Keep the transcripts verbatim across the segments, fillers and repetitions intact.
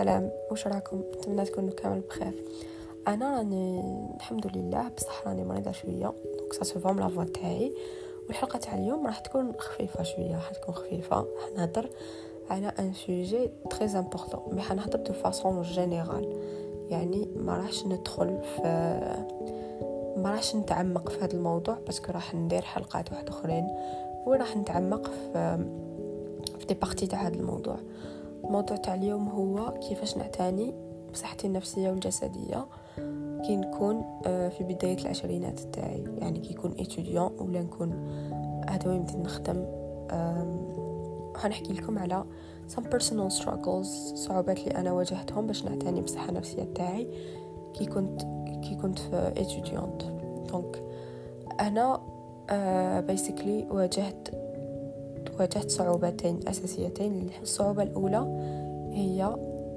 السلام، واش راكم؟ نتمنى تكونوا كامل بخير. انا راني الحمد لله، بصح راني مريضه شويه، دونك سا سو فام لا فوا تاعي. والحلقه تاع اليوم راح تكون خفيفه شويه، راح تكون خفيفه. حنهضر على ان سوجي تري امبورطون، مي حنهضر دو فاصون جينيرال، يعني ما راحش ندخل في ما راحش نتعمق في هذا الموضوع، باسكو راح ندير حلقات واحد اخرين وراح نتعمق في في دي بارتي تاع هذا الموضوع. الموضوع تاع اليوم هو كيفاش نعتني بصحتي النفسيه والجسديه كي نكون في بدايه العشرينات تاعي، يعني كي يكون اتوديون ولا نكون هذا يمدي نخدم. حنحكي لكم على some personal struggles، صعوبات اللي انا واجهتهم باش نعتني بالصحه النفسيه تاعي كي كنت كي كنت في اتوديونت. دونك انا بيسيكلي واجهت واجهت صعوبتين أساسيتين. الصعوبة الأولى هي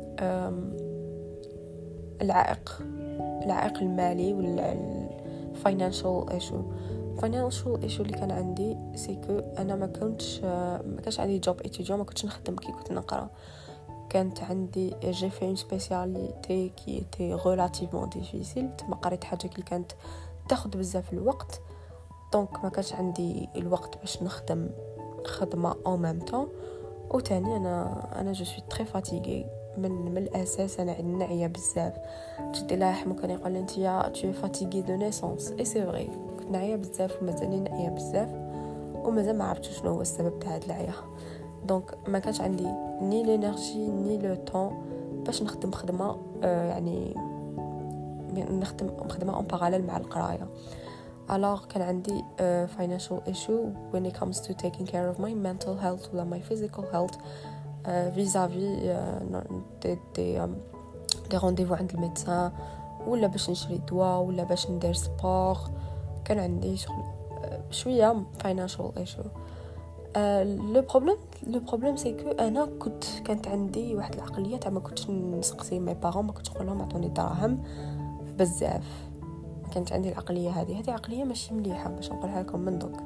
العائق العائق المالي والفاينانشال ايشو. financial issue اللي كان عندي سيكو أنا ما كنتش ما كانش عندي جوب اتيديون، ما كنتش نخدم كي كنت نقرأ. كانت عندي جي في اون سبيسياليتي كي تي ريلاتيفمون ديفيسيل، ما قريت حاجة اللي كانت تاخذ بزاف الوقت، دونك ما كانش عندي الوقت باش نخدم خدمه او ميم طون. وثاني انا انا جو سوي تري فاتيغي من من الاساس، انا ناعيه بزاف. جدي الله يرحمه كان يقول لي انت يا تو فاتيغي دو نيسونس، اي سي فري، كنت ناعيه بزاف ومازالني ناعيه بزاف، ومازال ما عرفتش شنو هو السبب تاع هاد العيا. دونك ما كانش عندي ني لينيرجي ني لو طون باش نخدم خدمه آه يعني نخدم خدمه اون باراليل مع القرايه. Alors كان عندي uh, financial issue when it comes to taking care of my mental health ولا my physical health uh, vis-à-vis uh, des, des, um, des rendez-vous عند الميدسان، ولا باش نشري دواء، ولا باش ندير سبور. كان عندي شغل uh, شوية financial issue. لو بروبليم لو بروبليم سي كو انا كنت كانت عندي واحد العقليه تاع ما كنتش نسقسي مي بارون، ما كنتش نقول لهم عطوني دراهم بزاف. كانت عندي العقليه هذه هذه عقليه ماشي مليحه باش نقولها لكم من دوك.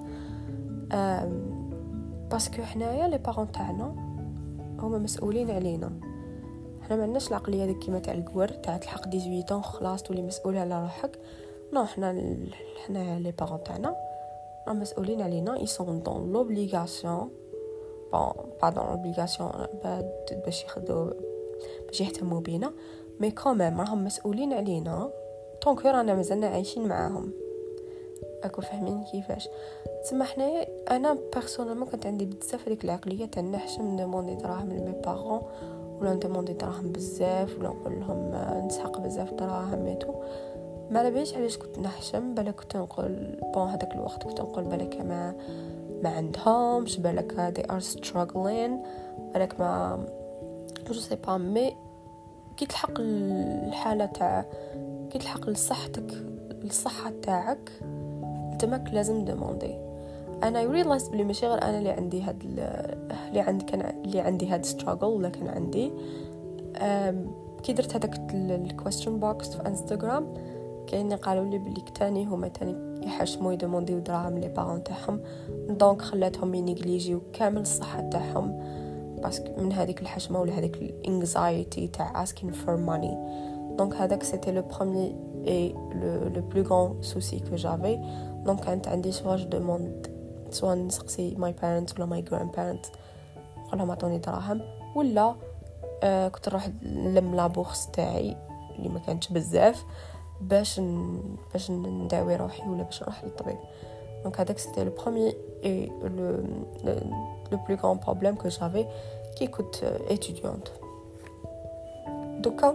باسكو حنايا لي بارون تاعنا هما مسؤولين علينا، حنا ما عندناش العقليه ديك كيما تاع الكور تاع تلحق ثمانية عشر خلاص تولي مسؤول على روحك. نو، حنا حنا لي بارون تاعنا راهم مسؤولين علينا، ils sont dans l'obligation bon pas dans l'obligation باش يخدو باش يهتموا بينا، مي كوميم راهم مسؤولين علينا طونك رانا مازلنا عايشين معاهم. اكو فاهمين كيفاش؟ تسمى حنايا انا بيرسونيلمون كانت عندي بزاف هذيك العقليه تاع نحشم ندوموندي دراهم لمي بارون، ولا ندوموندي دراهم بزاف، ولا نقول لهم نسحق بزاف دراهم ميتو. ما على باليش علاش كنت نحشم، بالك كنت نقول بون هذاك الوقت كنت نقول بالك ما ما عندهمش، بالك they are struggling، بالك ما جو سي با. مي كي تلحق الحاله تاع كي تلحق لصحتك الصحه تاعك تماك لازم دوموندي. انا ريلايز بلي ماشي غير انا اللي عندي هاد اللي عندي كان اللي عندي هاد ستراغل، ولا كان عندي كي درت هذاك الكويستشن بوكس في انستغرام كاين قالوا لي بلي تاني هما تاني يحشموا يدومونديو دراهم لي بارون تاعهم، دونك خلاتهم ينيجليجيو كامل الصحه تاعهم باسكو من هذيك الحشمه ولا هذيك الانكزايتي تاع asking for money. دونك هذاك سيتي لو بروميير اي لو لو بلو غران سوسي كو جافي. دونك كانت عندي سوا جو دوموند سوا نسقسي ماي بارنتس ولا ماي جراند بارنتس نقول لهم عطوني دراهم، ولا آه كنت نروح نلم لابورس تاعي اللي ما كانتش بزاف باش ن... باش نداوي روحي ولا باش نروح للطبيب. دونك هذاك سيتي لو بروميير اي لو لو بلو غران بروبليم كو جافي كي كنت اتيديونت. دوكا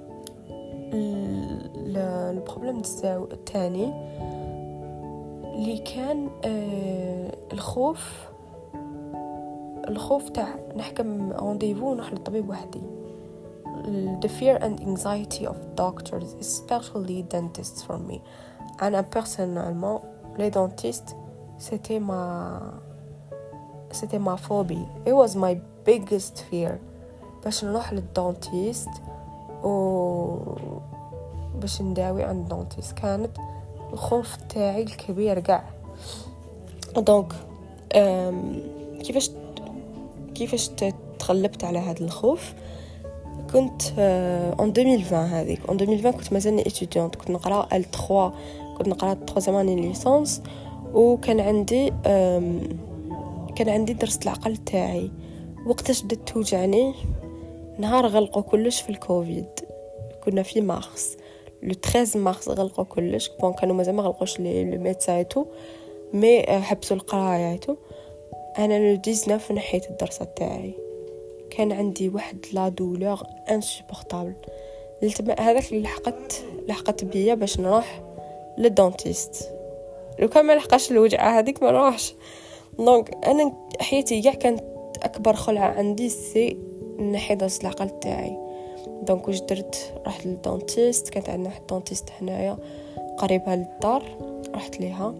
البروبليم الثاني اللي كان آه الخوف الخوف تاع نحكم رونديفو ونروح للطبيب وحدي. the fear and anxiety of doctors, especially dentists for me. أنا personnellement les dentistes c'était ma c'était ma phobie, it was my biggest fear. باش نروح للدنتيست و باش نداوي عند الدنتيست كانت الخوف تاعي الكبير قاع. دونك كيفاش كيفاش تغلبت على هذا الخوف؟ كنت اون ألفين وعشرين هذيك اون ألفين وعشرين كنت مازالني اتيديونت، كنت نقرا ال ثلاثة، كنت نقرا ترويزيام اني ليسانس، وكان عندي كان عندي درس العقل تاعي. وقتاش بدات توجعني؟ نهار غلقوا كلش في الكوفيد، كنا في مارس لو ثلاثة مارس غلقوا كلش. بون كانوا مازال ما غلقوش لي لو ميدسايتو مي حبسوا القراياتو. انا لو تسعطاش نحيت الدراسه تاعي، كان عندي واحد لا دولور انسوبورطابل. هذاك اللي لحقت لحقت بيا باش نروح للدونتيست. لو كان ما لحقاش الوجعه هذيك ما نروحش. دونك انا حياتي كاع كانت اكبر خلعه عندي سي نحي درس العقل تاعي. دونك واش درت؟ رحت للدونتيست، كانت عندنا واحد دونتيست هنايا قريبها للدار، رحت ليها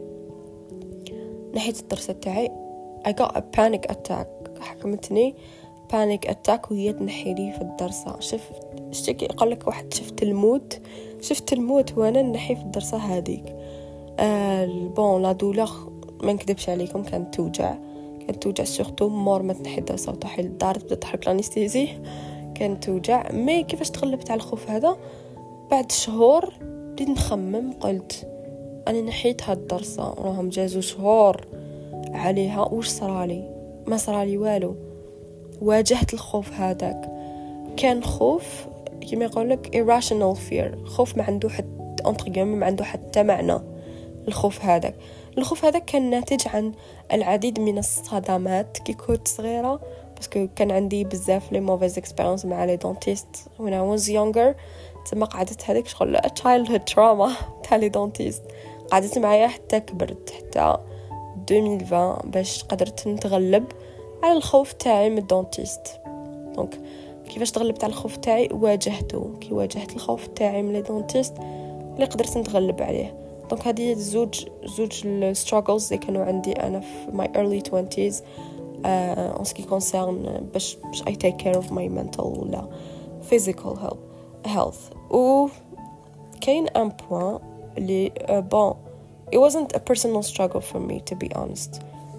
نحيت الدرس تاعي. I got a panic attack، حكمتني panic attack وهي تنحي لي في الدرسه. شفت شتي يقول لك واحد شفت الموت، شفت الموت وانا نحي في الدرسه هذيك. آه بون لا دولور ما نكذبش عليكم كانت توجع، كانت توجع سورتو مور ما تنحي الدرسه وتروحي للدار تبدا تحرك لانستيزي، كانت توجع. مي كيفاش تغلبت على الخوف هذا؟ بعد شهور بديت نخمم، قلت انا نحيت هاد الدرسه راهم جازوا شهور عليها، واش صرالي؟ ما صرالي والو. واجهت الخوف هذاك، كان خوف كما يقولك irrational fear، خوف ما عنده حتى انطر ما عنده حتى معنى. الخوف هذاك الخوف هذاك كان ناتج عن العديد من الصدمات كي كنت صغيره، باسكو كان عندي بزاف لي موفيز اكسبيرينس مع لي دونتيست when I was younger. تما قعدت هذيك شغل childhood trauma تاع لي دونتيست، قعدت معايا حتى كبرت، حتى ألفين وعشرين باش قدرت نتغلب على الخوف تاعي من الدونتيست. دونك كيفاش تغلبت على الخوف تاعي؟ واجهته. كي واجهت الخوف تاعي من الدونتيست اللي قدرت نتغلب عليه. دونك هذه زوج زوج الستراغلز اللي كانوا عندي انا في my early twenties uh, en ce qui concerne باش باش I take care of my mental ولا physical health health و كاين ان بوين اللي bon it wasn't a personal struggle for me to be honest.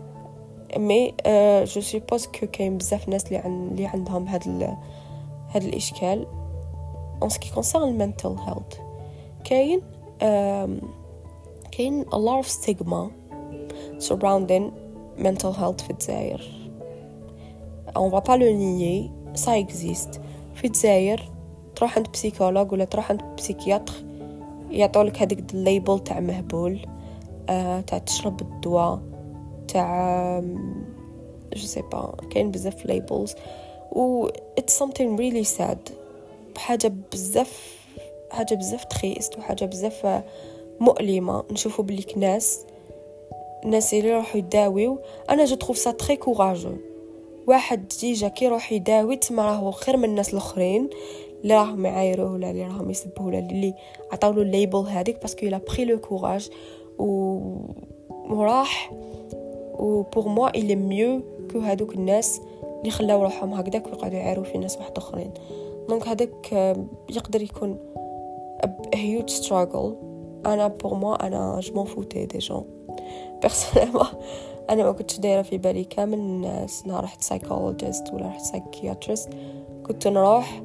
مي uh, je suppose que كاين بزاف ناس اللي عن اللي عندهم هذا ال... هذا الاشكال en ce qui concerne mental health. كاين um, كاين a lot of stigma surrounding mental health في الجزائر. on va pas le nier, ça existe. في الجزائر تروح عند بسيكولوج ولا تروح عند بسيكياتر يعطولك هذيك الليبل تاع مهبول، آه، تاع تشرب الدواء تاع جو سي با، كاين بزاف ليبلز و it's something really sad. حاجه بزاف حاجه بزاف تخيست وحاجه بزاف مؤلمه نشوفوا بلي ناس الناس اللي يروحوا يداويو. انا جو تروف سا تري كوراجو. واحد ديجا كي يروح يداوي تما راهو خير من الناس الاخرين اللي راهم يعايروه ولا اللي راهم يسبوه ولا اللي عطاولو الليبل هذيك، باسكو لا بري لو كوراج و وراح و بور موا il est mieux que هذوك الناس اللي خلاو روحهم هكذاك ويقعدوا يعايروا في ناس واحد اخرين. دونك هذاك يقدر يكون a huge struggle. انا بور موا انا جو m'en foutais des gens personnellement. انا ما كنتش دايره في بالي كامل الناس. انا رحت سايكولوجيست ولا رحت سايكياتريست، كنت نروح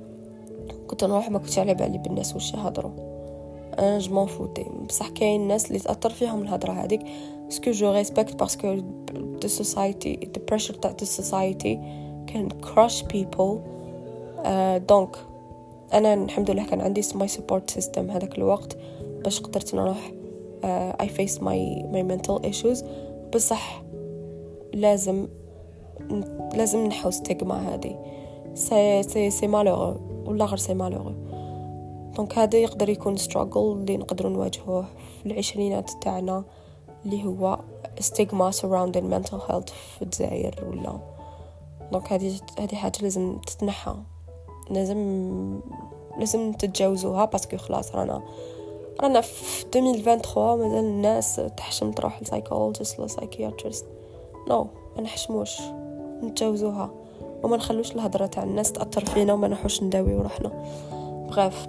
كنت نروح ما كنتش على بالي بالناس واش يهضروا. انا جو m'en foutais. بصح كاين الناس اللي تاثر فيهم الهضره هذيك باسكو جو ريسبكت، باسكو the society the pressure تاع the society can crush people. دونك uh, انا الحمد لله كان عندي my support system هذاك الوقت باش قدرت نروح uh, I face my my mental issues. بصح لازم لازم نحو ستيغما هذه. سي سي سي مالوغو ولا غير سي مالوغو. دونك هذا يقدر يكون struggle اللي نقدروا نواجهوه في العشرينات تاعنا، اللي هو ستيغما surrounding mental health في الجزائر ولا. دونك هذه هذه حاجه لازم تتنحى، لازم لازم تتجاوزوها، باسكو خلاص رانا رانا في ألفين وثلاثة وعشرين مازال الناس تحشم تروح لسايكولوجيست ولا سايكياتريست. نو ما نحشموش، نتجاوزوها وما نخلوش الهضره تاع الناس تاثر فينا وما نروحوش نداويو روحنا. بغاف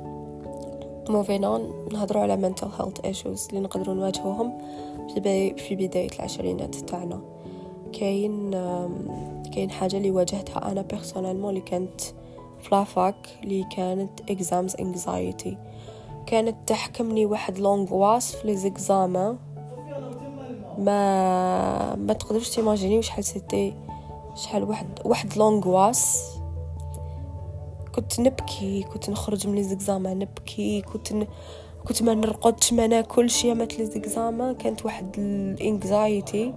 موفينا نهضروا على mental health issues اللي نقدروا نواجهوهم في بي في بدايه العشرينات تاعنا. كاين كاين حاجه اللي واجهتها انا بيرسونالمون اللي كانت فلافاك اللي كانت exams anxiety. كانت تحكمني واحد لونغواس في لي زيكزامان ما ما تقدرش تيماجيني شحال سيتي شحال واحد واحد لونغواس. كنت نبكي، كنت نخرج من لي زيكزامان نبكي، كنت ن... كنت ما نرقدش ما ناكلش يا مات لي زيكزامان. كانت واحد الانكزايتي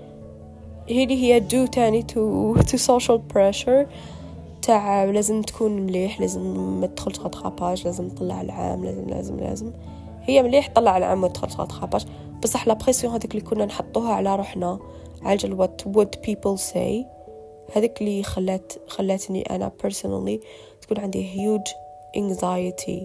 هي اللي هي دو تاني تو تو سوشيال بريشر تاع لازم تكون مليح، لازم ما تدخلش غطراباج، لازم تطلع العام، لازم لازم لازم هي مليح طلع العام وتدخل غطراباج. بصح لا بريسيون هذيك اللي كنا نحطوها على روحنا على جال what would people say هذيك اللي خلات خلاتني انا personally تكون عندي huge anxiety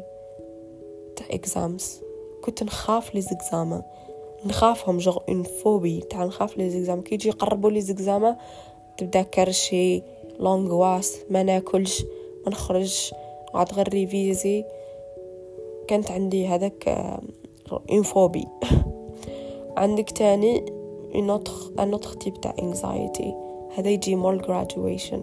تاع exams. كنت نخاف لي زيكزامان، نخافهم جو اون فوبي تاع نخاف لي زيكزام. كي يجي يقربوا لي زيكزامان تبدا كرشي لونغواس، ما ناكلش ما نخرج عاد غير ريفيزي. كانت عندي هذاك اون فوبي. عندك تاني un autre un autre type تاع anxiety هذا يجي مول graduation.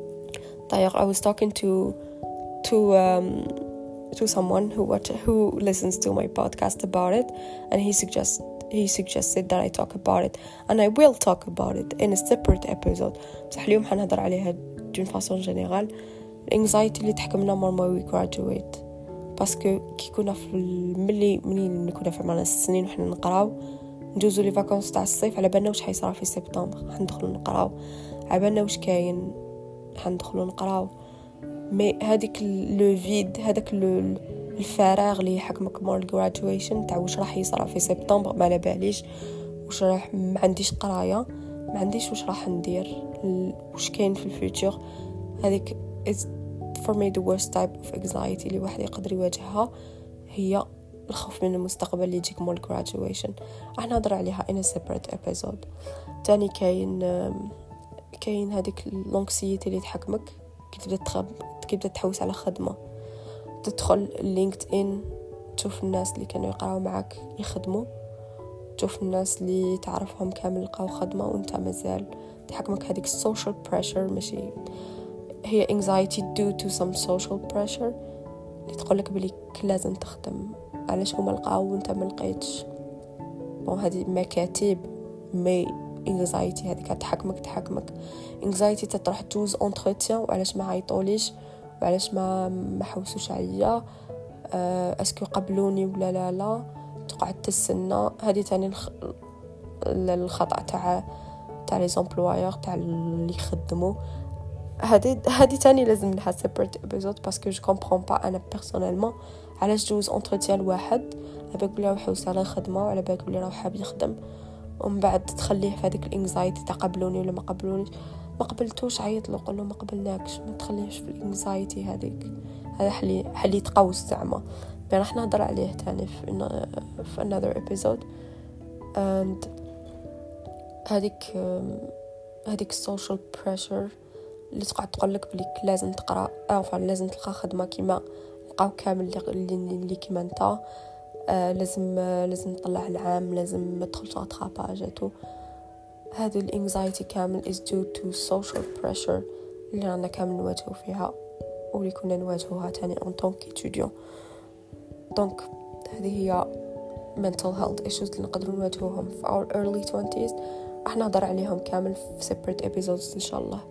طيب I was talking to to um, to someone who watch, who listens to my podcast about it, and he suggests he suggested that I talk about it, and I will talk about it in a separate episode. بصح اليوم حنهضر عليها d'une façon générale. الانكزايتي اللي تحكمنا مور ما وي graduate باسكو كي كنا في ملي منين كنا في عمرنا السنين وحنا نقراو نجوزو لي فاكونس تاع الصيف على بالنا واش حيصرا في سبتمبر، حندخلوا نقراو على بالنا واش كاين، حندخلوا نقراو. مي هذيك لو فيد هذاك الفراغ اللي يحكمك مور الجرادويشن تاع واش راح يصرا في سبتمبر ما على باليش، واش راح ما عنديش قرايه، ما عنديش واش راح ندير، واش كاين في الفيوتشر. هذيك is for me the worst type of anxiety اللي واحد يقدر يواجهها، هي الخوف من المستقبل اللي يجيك مول graduation. راح نهضر عليها in a separate episode. تاني كاين كاين هذيك لونكسيتي اللي تحكمك كي تبدا تخب كي تبدا تحوس على خدمه، تدخل لينكد ان تشوف الناس اللي كانوا يقراو معك يخدموا، تشوف الناس اللي تعرفهم كامل لقاو خدمه وانت مازال تحكمك هذيك السوشيال بريشر. ماشي هي anxiety due to some social pressure اللي تقولك بلي لازم تخدم، علاش هما لقاو وانت ما لقيتش. بون هذه مكاتب مي anxiety هذيك تحكمك تحكمك anxiety تروح تجوز انتروتيان وعلاش ما عيطوليش وعلاش ما ما حوسوش عليا، أه اسكو قبلوني ولا لا لا، تقعد تستنى. هذه تاني الخ... الخطأ تاع تاع لي زومبلويور تاع اللي يخدموا. هذه هذه تاني لازم لها سيبريت ابيزود باسكو جو كومبرون با انا بيرسونيلمون علاش جوز انتروتيان واحد على بالك بلي راه يحوس على الخدمه وعلى بالك بلي راه حاب يخدم، ومن بعد تخليه في هذيك الانكزايتي تاع قبلوني ولا ما قبلونيش، ما قبلتوش عيط له قول له ما قبلناكش، ما تخليهش في الانكزايتي هذيك. هذا حلي حلي تقوس زعما. بين راح نهضر عليه تاني في في another episode. and هذيك هذيك social pressure اللي تقعد تقول لك بلي لازم تقرا او لازم تلقى خدمه كيما لقاو كامل اللي اللي كيما انت، آه لازم آه لازم تطلع العام، لازم ما تدخلش غطراباجاتو. هذه الانكزايتي كامل is due to social pressure اللي رانا كامل نواجهو فيها واللي كنا نواجهوها تاني en tant qu'étudiant. دونك هذه هي mental health issues اللي نقدروا نواجهوهم في our early twenties. راح نهضر عليهم كامل في separate episodes ان شاء الله.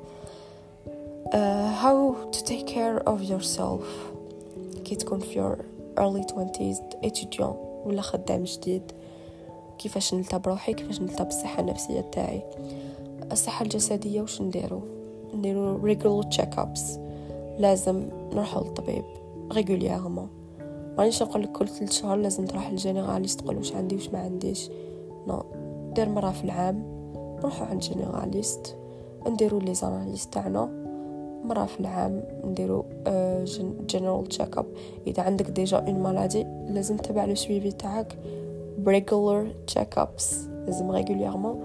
Uh, how to take care of yourself كي تكون في your early twenties étudiant ولا خدام جديد. كيفاش نلتا بروحي، كيفاش نلتا بالصحة النفسية تاعي. الصحة الجسدية وش نديرو نديرو regular check-ups، لازم نروحو للطبيب régulièrement. مانيش نقول لك كل ثلاث شهور لازم تروح للجينيراليست تقول واش عندي واش ما عنديش، نو دير مرة في العام نروحو عند جينيراليست، نديرو لي زاناليز تاعنا مرة في العام، نديرو جنرال تشيك اب. اذا عندك ديجا اون مالادي لازم تتبع لو سويفي تاعك بريغولار تشيك ابس، لازم ريغوليرمون.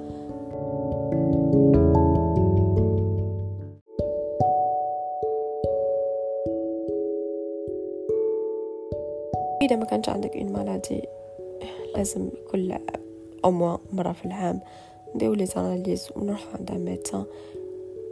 اذا ما كانش عندك اون مالادي لازم كل او مره في العام نديرو لي زاناليز ونروح عند ميدسان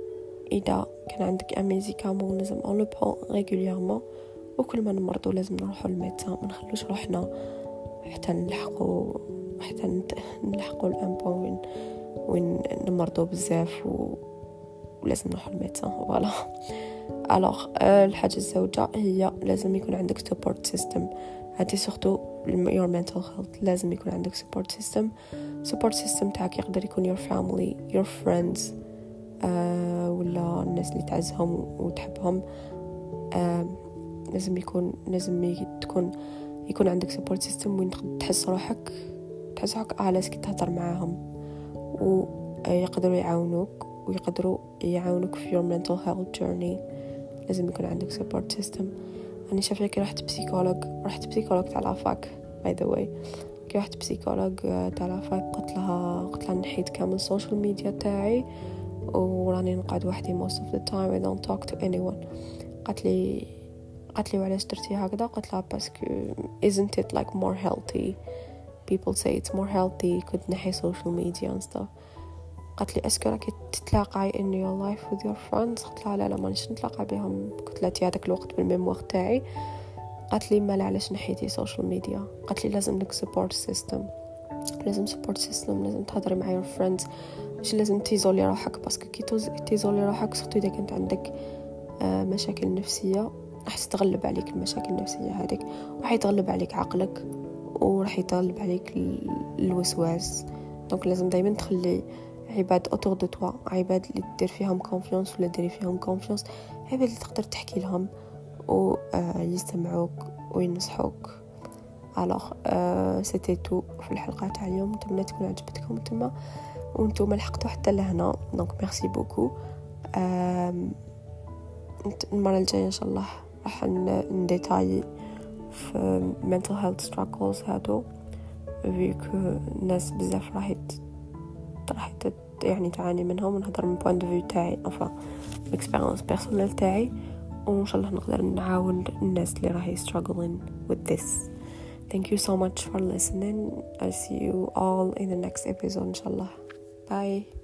اذا كان عندك ان ميديكامون لازم اون لو برون ريغوليرمون، وكل ما نمرضوا لازم نروحوا للميدسان، ما نخلوش روحنا حتى نلحقوا حتى نلحقوا الان بوين وين نمرضوا بزاف و... ولازم نروحوا للميدسان. فوالا الوغ الحاجه الزوجه هي لازم يكون عندك سبورت سيستم. هادي سورتو your mental health لازم يكون عندك support system. support system تاعك يقدر يكون your family, your friends، آه ولا الناس اللي تعزهم وتحبهم. آه لازم يكون لازم تكون يكون عندك support system وين تحس روحك تحس روحك عالس كي تهضر معاهم، ويقدروا يعاونوك ويقدروا يعاونوك في your mental health journey. لازم يكون عندك support system. أنا شايفة كي رحت بسيكولوج رحت بسيكولوج تاع لافاك باي ذا واي كي رحت بسيكولوج تاع لافاك قلت لها قلت لها نحيد كامل السوشيال ميديا تاعي وراني نقعد وحدي most of the time I don't talk to anyone. قالت لي قالت لي وعلاش درتي هكذا؟ قلت لها باسكو isn't it like more healthy people say it's more healthy كنت نحي social media and stuff. قالت لي اسكو راكي تتلاقاي in your life with your friends؟ قلت لها لا لا مانيش نتلاقى بهم. قلت لها هذاك الوقت بالميموار تاعي. قالت لي ما علاش نحيتي سوشيال ميديا؟ قالت لي لازم لك سبورت سيستم لازم سبورت سيستم لازم تهضري مع your friends، مش لازم تيزولي روحك باسكو كي تيزولي روحك سورتو اذا كانت عندك مشاكل نفسيه راح تتغلب عليك المشاكل النفسيه هذيك، وراح يتغلب عليك عقلك وراح يتغلب عليك الوسواس. دونك لازم دائما تخلي عباد اوتور دو توا، عباد اللي دير فيهم كونفيونس ولا ديري فيهم كونفيونس، عباد اللي تقدر تحكي لهم ويستمعوك وينصحوك. الوغ سيتي تو في الحلقه تاع اليوم، نتمنى تكون عجبتكم نتوما وانتم لحقتوا حتى لهنا. دونك ميرسي بوكو. المره الجايه ان شاء الله راح نديتاي في mental health struggles هادو فيكو الناس بزاف راح راح يعني تعاني منهم، ونهضر من بوينت دو فيو تاعي enfin اكسبيرينس بيرسونيل تاعي، وان شاء الله نقدر نعاون الناس اللي راهي struggling with this. Thank you so much for listening. I'll see you all in the next episode ان شاء الله. Bye.